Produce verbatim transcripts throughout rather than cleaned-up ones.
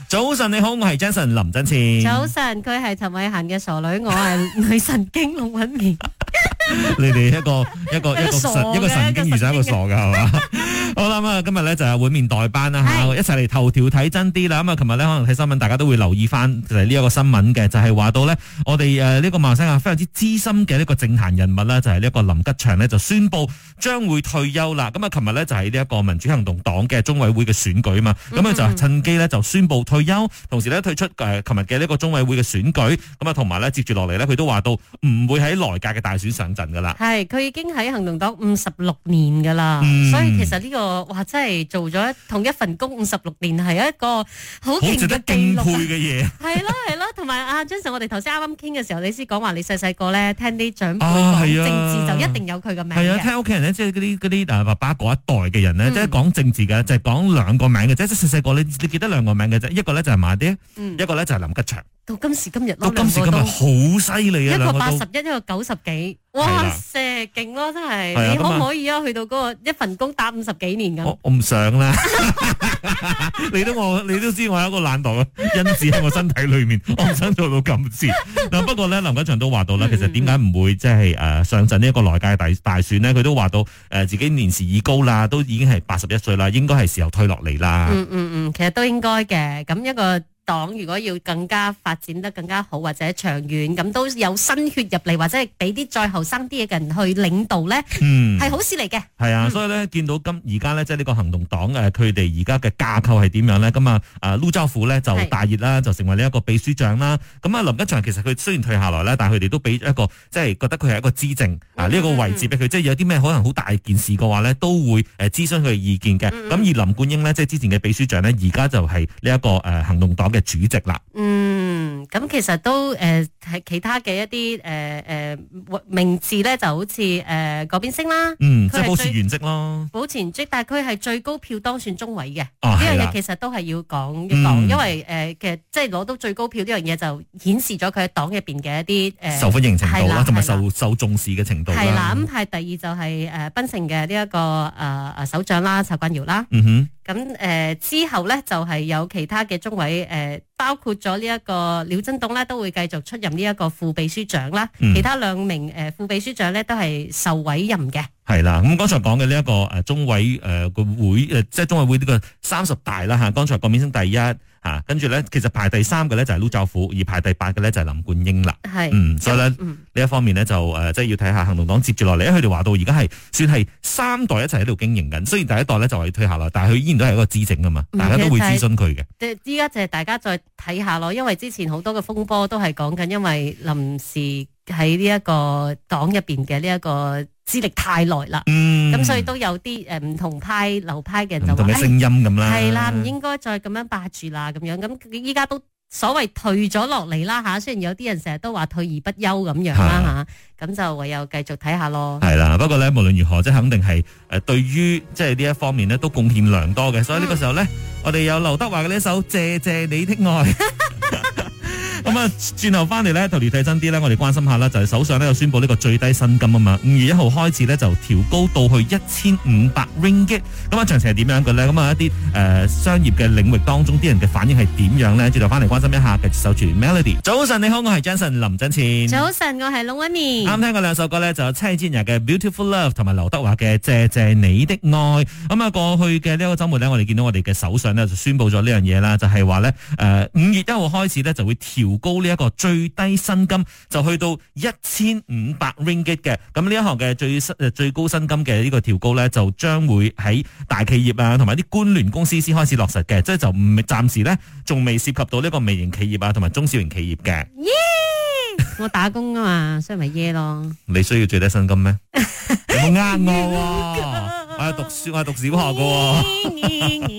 早晨你好，我係 Jason 林振前。 早晨，佢係陳慧嫻嘅傻女，我係女神經龍韻棉。 你哋一個一個一個神一個神經遇上一個傻噶係嘛？好啦，咁啊今日咧就係會面代班啦吓，一齊嚟頭條睇真啲啦。咁啊，琴日咧可能睇新聞，大家都會留意翻就係呢一個新聞嘅，就係話到咧我哋誒呢個馬來西亞非常之資深嘅呢個政壇人物啦，就係呢一個林吉祥咧就宣布將會退休啦。咁啊，琴日咧就係呢一個民主行動黨嘅中委會嘅選舉啊嘛，咁啊就趁機咧就宣布退休，同時咧退出誒琴日嘅呢個中委會嘅選舉，咁啊同埋咧接住落嚟咧佢都話到唔會喺來屆嘅大選上陣噶啦。 係，佢已經喺行動黨五十六年噶啦，嗯、所以其實呢、這個哇真係做咗同一份工五十六年係一個好勁嘅記錄嘅嘢。係咯係咯，同埋阿 Jason，我哋頭先啱啱傾嘅時候，你先講話你細細個咧聽啲長輩講政治就一定有佢嘅名嘅。係啊，聽屋企人咧，即係嗰啲嗰啲誒爸爸嗰一代嘅人咧，嗯、即係講政治嘅，就係講兩個名嘅啫。即係細細個你你記得兩個名嘅啫，一個咧就係馬爹，嗯、一個咧就係林吉祥。到今時今日， 到今時今日好犀利啊！ 一個八十一，一個九十幾，哇塞，勁咯真係！你可唔可以啊？去到嗰個一份工打五十幾年咁？ 我我唔想啦。你都我你都知我有一個懶惰嘅因子喺我身體裏面，我唔想做到咁遲。嗱，不過咧，林吉祥都話到啦，其實點解唔會即係誒上陣呢一個來屆大大選呢？佢都話到誒自己年事已高啦，都已經係八十一歲啦，應該係時候退落嚟啦。 嗯嗯嗯，其實都應該嘅。咁一個黨如果要更加發展得更加好或者長遠，咁都有新血入嚟，或者係俾啲再後生啲嘅人去領導咧，嗯，係好事嚟嘅。係啊，嗯、所以咧見到今而家咧即係呢個行動黨誒，佢哋而家嘅架構係點樣咧？咁啊啊陸兆福咧就大熱啦，就成為呢一個秘書長啦。咁啊林吉祥其實佢雖然退下來咧，但係佢哋都俾一個即係覺得佢係一個資政啊呢一個位置俾佢，即係有啲咩可能好大件事嘅話咧，都會誒諮詢佢嘅意見嘅。咁、嗯、而林冠英呢，即係之前嘅秘書長咧，而家就係呢一個誒行動黨嘅主席啦。 嗯，咁其實都誒係、呃、其他嘅一啲誒誒名字咧，就好似誒嗰邊升啦， 嗯，即係保持原職咯， 保持原職，但係佢係最高票當選中委嘅，呢、 哦、 樣嘢其實都係要講一講，嗯、因為誒、呃、其實即係攞到最高票呢樣嘢就顯示咗佢喺黨入邊嘅一啲誒、呃、 受歡迎程度啦，同埋受受重視嘅程度啦。 係啦，咁係第二就係誒檳城嘅呢一個誒誒、呃、首長啦，陳冠堯啦， 嗯哼。 咁誒、呃、之後咧就係、是、有其他嘅中委誒、呃，包括咗呢一個廖振東咧，都會繼續出任呢一個副秘書長啦。嗯、其他兩名誒、呃、副秘書長咧都係受委任嘅。係啦，咁剛才講嘅呢一個誒中委誒個會誒，即係中委會呢個三十大啦嚇。剛才郭面升第一嚇，跟住咧其實排第三嘅咧就係陸兆福，而排第八嘅咧就係林冠英啦。係，嗯，所以咧呢、嗯、一方面咧就誒即係要睇下行動黨接住落嚟，因為佢哋話到而家係算係三代一齊喺度經營緊。雖然第一代咧就係退下來，但係佢依然都係一個資政啊嘛，大家都會諮詢佢嘅。即係依家就係大家再睇下咯，因為之前好多嘅風波都係講緊，因為臨時喺呢一個黨入邊嘅呢一個資歷太耐啦，咁、嗯、所以都有啲誒唔同派流派嘅人就話，唔同嘅聲音咁啦，係啦，唔應該再咁樣霸住啦，咁樣咁依家都所謂退咗落嚟啦吓，雖然有啲人成日都話退而不休咁樣啦吓，咁、啊、就唯有繼續睇下咯。係啦， 不過咧無論如何，即係肯定係誒對於即係呢一方面咧都貢獻良多嘅，所以呢個時候咧，嗯、我哋有劉德華嘅呢一首《謝謝你的愛》。咁啊，轉頭翻嚟咧，頭條睇真啲咧，我哋關心下啦，就係、是、首相咧又宣布呢個最低薪金啊嘛，五月一號開始咧就調高到去一千五百 ringgit。咁啊，詳情係點樣嘅咧？咁啊，一啲誒、呃、商業嘅領域當中，啲人嘅反應係點樣咧？轉頭翻嚟關心一下，繼續守住 Melody。早晨你好，我係 Jason 林振前。 早晨，我係龍威面。啱聽過兩首歌咧，就有蔡健雅嘅 Beautiful Love 同埋劉德華嘅謝謝你的愛。咁啊，過去嘅呢一個週末咧，我哋見到我哋嘅首相咧就宣布咗呢樣嘢啦，就係話咧誒五月一號開始咧就會調高呢一個最低薪金，就去到一千五百 ringgit 嘅。咁呢一項嘅最最高薪金嘅呢個調高咧，就將會喺大企業啊，同埋啲官聯公司先開始落實嘅，即係就唔暫時咧，仲未涉及到呢個微型企業啊，同埋中小型企業嘅。 耶！我打工啊嘛，所以咪耶咯。 你需要最低薪金咩？有冇呃我？我係讀書，我係讀小學噶。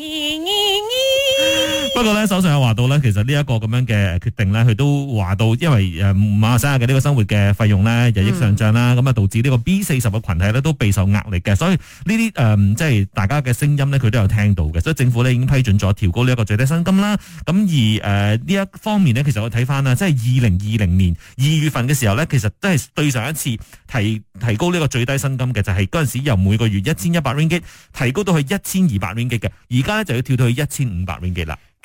不過咧，首相有話到咧，其實呢一個咁樣嘅決定咧，佢都話到，因為誒馬來西亞嘅呢個生活嘅費用咧日益上漲啦，咁啊、嗯、導致呢個 B 四十嘅群體咧都備受壓力嘅，所以呢啲誒即係大家嘅聲音咧，佢都有聽到嘅，所以政府咧已經批准咗調高呢一個最低薪金啦。咁而誒呢、呃、一方面咧，其實我睇翻啦，即係二零二零年二月份嘅時候咧，其實都係對上一次提提高呢個最低薪金嘅，就係嗰陣時由每個月一千一百 ringgit 提高到去一千二百 ringgit 嘅，而家咧就要跳到去一千五百 ringgit 啦。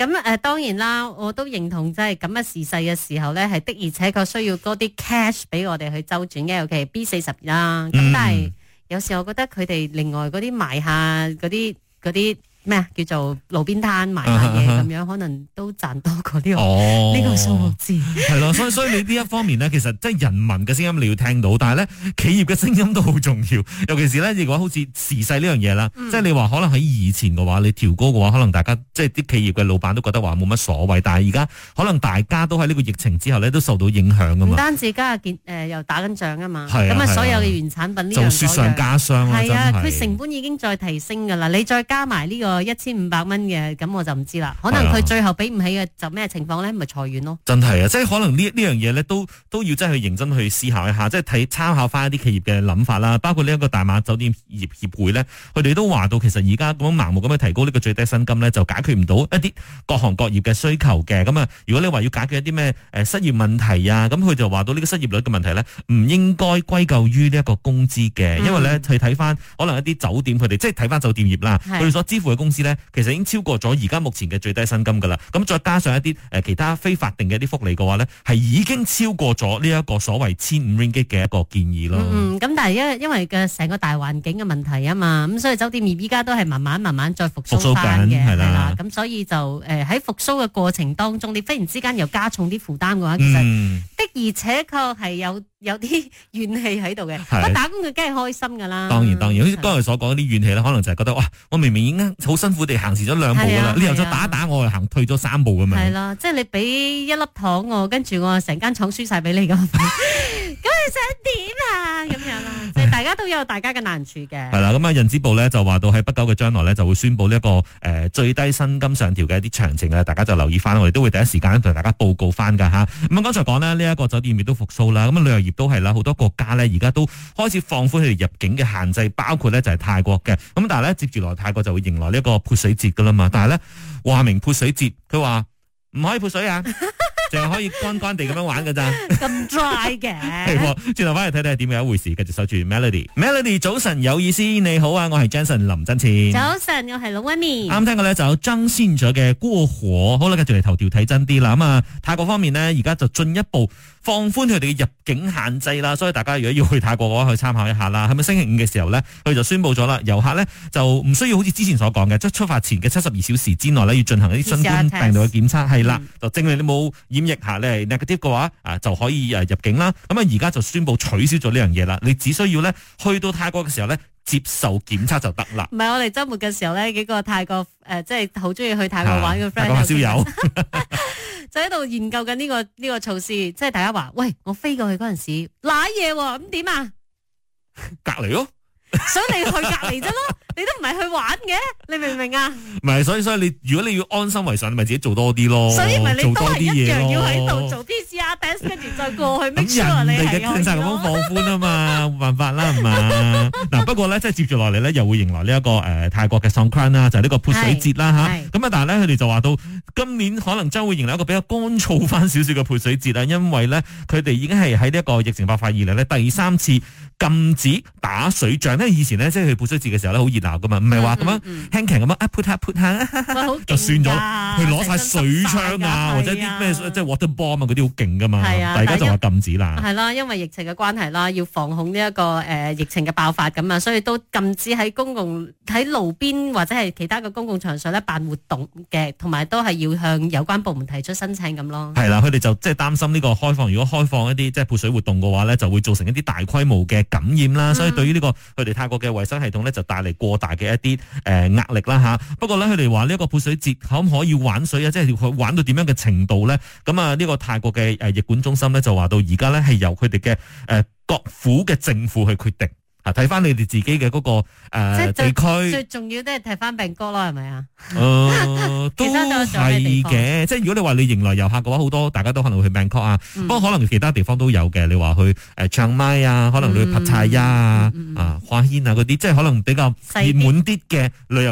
咁誒、呃、當然啦，我都認同即係咁嘅時勢嘅時候咧，係的而且確需要多啲 cash 俾我哋去周轉嘅，尤其係 B 四十啦。咁、嗯、但係有時我覺得佢哋另外嗰啲賣下嗰啲嗰啲咩啊，叫做路邊攤賣下嘢咁樣，可能都賺多過呢、這個呢、哦、個數目字。 係咯，所以所以你呢一方面咧，其實即係人民嘅聲音你要聽到，但係咧企業嘅聲音都好重要。尤其是咧，如果好似時勢呢樣嘢啦，嗯、即係你話可能喺以前嘅話，你調高嘅話，可能大家即係啲企業嘅老闆都覺得話冇乜所謂。但係而家可能大家都喺呢個疫情之後咧，都受到影響噶嘛。唔單止家下見誒又打緊仗啊嘛，咁啊所有嘅原產品呢樣就雪上加霜啦， 係啊，佢成本已經再提升噶啦，你再加埋呢個一千五百蚊嘅，咁我就唔知啦。可能佢最後俾唔起嘅就咩情況咧？咪裁員咯。 真係啊，即係可能呢呢樣嘢咧，都都要真係去認真去思考一下，即係睇參考翻一啲企業嘅諗法啦。包括呢一個大馬酒店業協會咧，佢哋都話到，其實而家咁樣盲目咁樣提高呢個最低薪金咧，就解決唔到一啲各行各業嘅需求嘅。咁啊，如果你話要解決一啲咩誒失業問題啊，咁佢就話到呢個失業率嘅問題咧，唔應該歸咎於呢一個工資嘅，因為咧去睇翻可能一啲酒店佢哋即係睇翻酒店業啦，佢哋所支付嘅工資咧，其實已經超過咗而家目前嘅最低薪金噶啦。咁再加上一啲誒其他非法定嘅一啲福利嘅話咧，係已經超過咗呢一個所謂千五 ringgit 嘅一個建議咯。 嗯，咁但係因因為嘅成個大環境嘅問題啊嘛，咁所以酒店業依家都係慢慢慢慢再復甦翻嘅，係啦。咁所以就誒喺復甦嘅過程當中，你忽然之間又加重啲負擔嘅話，其實的而且確係有有啲怨氣喺度嘅。不打工嘅梗係開心噶啦。 當然當然，好似剛才所講啲怨氣咧，可能就係覺得哇，我明明已經好辛苦地行前咗兩步噶啦，你又再打打我，又行退咗三步咁樣。 係啦，即係你俾一粒糖我，跟住我成間廠輸晒俾你咁，咁你想點啊？咁樣啦，即係大家都有大家嘅難處嘅。 係啦，咁啊，人資部咧就話到喺不久嘅將來咧就會宣布呢一個誒、呃、最低薪金上調嘅一啲詳情啊，大家就留意翻，我哋都會第一時間同大家報告翻噶吓。咁啊，剛才講咧呢一個酒店業都復甦啦，咁啊旅遊業都係啦，好多國家咧而家都開始放寬佢哋入境嘅限制，包括咧就係泰國嘅。咁但係咧接住來泰國就會迎來呢一個潑水節噶啦嘛，但係咧話明潑水節，佢話唔可以潑水啊。淨係可以乾乾地咁樣玩噶咋？ 咁 dry 嘅。 係，轉頭翻嚟睇睇係點樣一回事。繼續守住 Melody，Melody 早晨有意思，你好啊，我係 Jason 林真前。 早晨，我係老溫妮。 啱聽過咧就有張先咗嘅過火。好啦，繼續嚟頭條睇真啲啦。咁啊，泰國方面呢，而家就進一步放寬佢哋嘅入境限制啦。所以大家如果要去泰國嘅話，去參考一下啦。係咪星期五嘅時候呢，佢就宣布咗啦，遊客呢就唔需要好似之前所講嘅，即係出發前嘅七十二小時之內呢，要進行一啲新冠病毒嘅檢測，係啦、嗯，就證明你冇染疫下咧 negative 嘅話啊，就可以誒入境啦。咁啊，而家就宣布取消咗呢樣嘢啦。你只需要咧去到泰國嘅時候咧，接受檢測就得啦。 唔係，我哋周末嘅時候咧，幾個泰國誒、呃，即係好中意去泰國玩嘅 friend，泰國燒友就喺度研究緊呢個呢個措施。即係大家話，喂，我飛過去嗰陣時瀨嘢喎，咁點啊？ 隔離咯。 所以你去隔離啫咯，你都唔係去玩嘅，你明唔明啊？ 唔係，所以所以你如果你要安心為上，你咪自己做多啲咯。 所以咪你都係一樣要喺度做 P C R test， 跟住再過去 make sure 你係有。咁人哋嘅政策咁樣放寬啊嘛，冇辦法啦，係嘛？嗱，不過咧，即係接住落嚟咧，又會迎來呢、這、一個誒、呃、泰國嘅 Songkran 啦，就係呢個潑水節啦吓。咁啊，但係咧，佢哋就話到今年可能將會迎來一個比較乾燥翻少少嘅潑水節啦，因為咧佢哋已經係喺呢一個疫情爆發以嚟咧第三次禁止打水仗。因為以前咧，即係去潑水節嘅時候咧，好熱鬧噶嘛，唔係話咁樣輕騎咁樣啊潑下潑下，就算咗，佢攞晒水槍啊，或者啲咩即係 water bomb 啊嗰啲好勁噶嘛，大家就話禁止啦。 係啦，因為疫情嘅關係啦，要防控呢一個誒疫情嘅爆發咁啊，所以都禁止喺公共喺路邊或者係其他嘅公共場所咧辦活動嘅，同埋都係要向有關部門提出申請咁咯。係啦，佢哋就即係擔心呢個開放，如果開放一啲即係潑水活動嘅話咧，就會造成一啲大規模嘅感染啦。嗯、所以對於呢、這個佢哋泰國嘅衛生系統咧，就帶嚟過大嘅一啲誒壓力啦吓。不過咧，佢哋話呢一個潑水節可唔可以玩水啊？即係佢玩到點樣嘅程度咧？咁啊，呢個泰國嘅誒疫管中心咧就話到而家咧係由佢哋嘅誒各府嘅政府去決定。啊，睇翻你哋自己嘅嗰、那個誒、呃、地區， 最重要都係睇翻病歌咯，係咪啊？ 誒、呃，都係嘅。即係如果你話你迎來遊客嘅話，好多大家都可能會去 Bangkok 啊、嗯，不過可能其他地方都有嘅。你話去誒唱麥啊，可能你去帕泰亞啊、啊花軒啊嗰啲，即係可能比較熱門啲嘅旅遊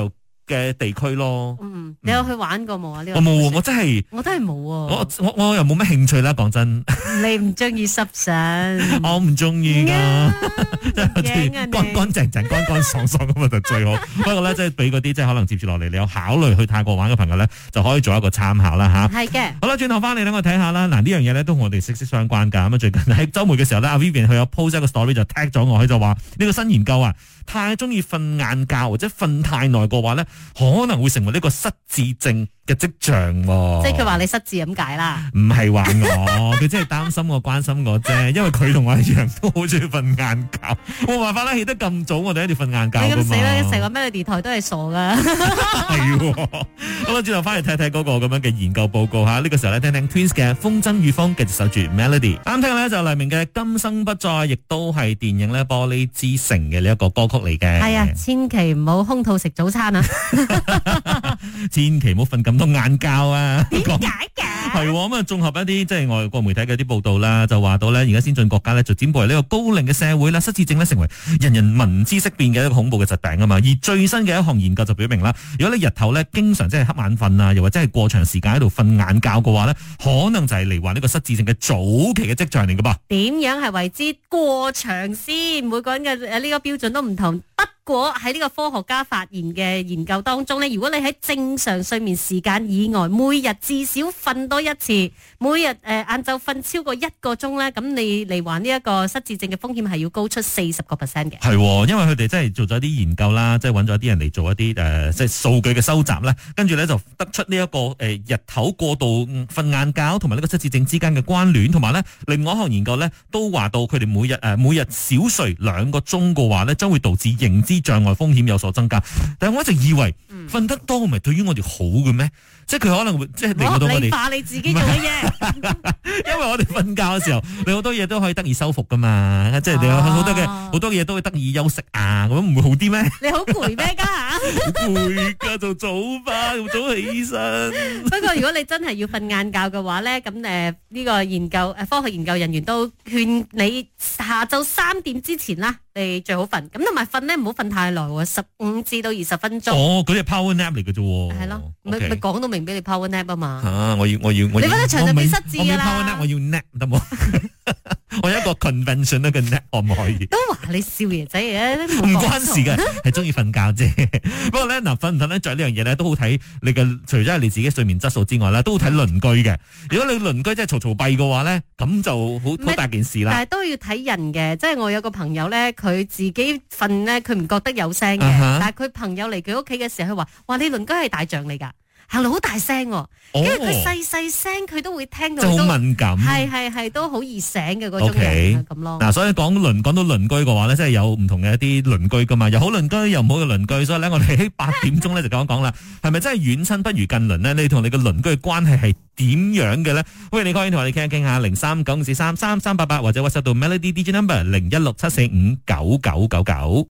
嘅地區咯。 嗯，你有去玩過冇啊？呢個我冇，我真係我都係冇。 我我我又冇乜興趣啦，講真。 你唔中意濕身？ 我唔中意噶，即係乾乾乾淨淨、乾乾爽爽咁就最好。不過咧，即係俾嗰啲即係可能接住落嚟，你有考慮去泰國玩嘅朋友咧，就可以做一個參考啦吓。 係嘅。 好啦，轉頭翻嚟咧，我睇下啦。嗱，呢樣嘢咧都同我哋息息相關噶。咁啊，最近喺週末嘅時候咧，阿 Vivian 佢有 post 一個 story 就 tag 咗我，佢就話呢個新研究啊，太中意瞓晏覺或者瞓太耐嘅話咧，可能會成為呢個失智症嘅跡象。 即係佢話你失智咁解啦？ 唔係話我，佢真係擔心我、關心我啫。因為佢同我一樣都好中意瞓晏覺，冇辦法啦，起得咁早，我哋一定要瞓晏覺。 你咁死啦！成個 Melody 台都係傻噶。 係，好啦，轉頭翻嚟睇睇嗰個咁樣嘅研究報告吓。呢、這個時候咧，聽聽 Twins 嘅《風箏與風》，繼續守住 Melody。啱聽嘅咧就黎明嘅《今生不再》，亦都係電影咧《玻璃之城》嘅呢一個歌曲嚟嘅。 係啊，千祈唔好空肚食早餐啊！ 千祈唔好瞓咁多晏覺啊！ 點解嘅？ 係咁啊！綜合一啲即係外國媒體嘅啲報道啦，就話到咧，而家先進國家咧就展步為呢個高齡嘅社會啦，失智症咧成為人人聞之色變嘅一個恐怖嘅疾病啊嘛。而最新嘅一項研究就表明啦，如果你日頭咧經常即係瞌眼瞓啊，又或者係過長時間喺度瞓晏覺嘅話咧，可能就係嚟患呢個失智症嘅早期嘅跡象嚟噶噃。 點樣係為之過長先？每個人嘅誒呢個標準都唔同。不過喺呢個科學家發現嘅研究當中咧，如果你喺正常睡眠時間以外，每日至少瞓多一次，每日誒晏晝瞓超過一個鐘咧，咁你嚟患呢一個失智症嘅風險係要高出四十個 percent 嘅。係， 因為佢哋真係做咗啲研究啦，即係揾咗啲人嚟做一啲誒、呃，即係數據嘅收集啦，跟住咧就得出呢、這、一個誒、呃、日頭過度瞓晏覺同埋呢個失智症之間嘅關聯，同埋咧另外一項研究咧都話到佢哋每日誒、呃、每日少睡兩個鐘嘅話咧，將會導致認知障礙風險有所增加，但係我一直以為瞓得多唔係對於我哋好嘅咩？即係佢可能會即係令到我哋合理化你自己做嘅嘢， 因為我哋瞓覺嘅時候，你好多嘢都可以得以修復噶嘛，即係你有好多嘅好多嘢都會得以休息啊，咁唔會好啲咩？ 你好攰咩家下？ 好攰噶，做早班，早起身。 不過如果你真係要瞓晏覺嘅話咧，咁誒呢個研究誒科學研究人員都勸你下晝三點之前啦，你最好瞓。咁同埋瞓咧唔好瞓太耐喎，十五至到二十分鐘。 哦，嗰啲係 power nap 嚟嘅啫。 係咯，咪咪講到明俾你 power nap 啊嘛。 啊，我要我要我要。 你瞓得長就變失智噶啦。 power nap，我要 nap 得冇？我有一個 convention 咧嘅 nap 可唔可以？ 都話你少爺仔嘅， 唔關事嘅，係中意瞓覺啫。不過咧，嗱瞓唔瞓得着呢樣嘢咧，都好睇你嘅，除咗係你自己睡眠質素之外咧，都好睇鄰居嘅。如果你鄰居真係嘈嘈閉嘅話咧，咁就好好大件事啦。 但係都要睇人嘅，即係我有個朋友咧，佢自己瞓咧，佢唔覺得有聲嘅，uh-huh. 但係佢朋友嚟佢屋企嘅時候，佢話：哇，你鄰居係大象嚟㗎。行路好大聲，因為佢細細聲，佢都會聽到， 就好敏感， 係係係都好易醒嘅嗰種人咁咯。 嗱，所以講鄰講到鄰居嘅話咧，即係有唔同嘅一啲鄰居噶嘛，有好鄰居又唔好嘅鄰居，所以咧我哋喺八點鐘咧就講一講啦，係咪真係遠親不如近鄰呢？你同你嘅鄰居嘅關係係點樣嘅咧？喂，你可以同我哋傾一傾下，零三九五四三三三八八或者 WhatsApp 到 Melody D J Number 零一六七四五九九九九。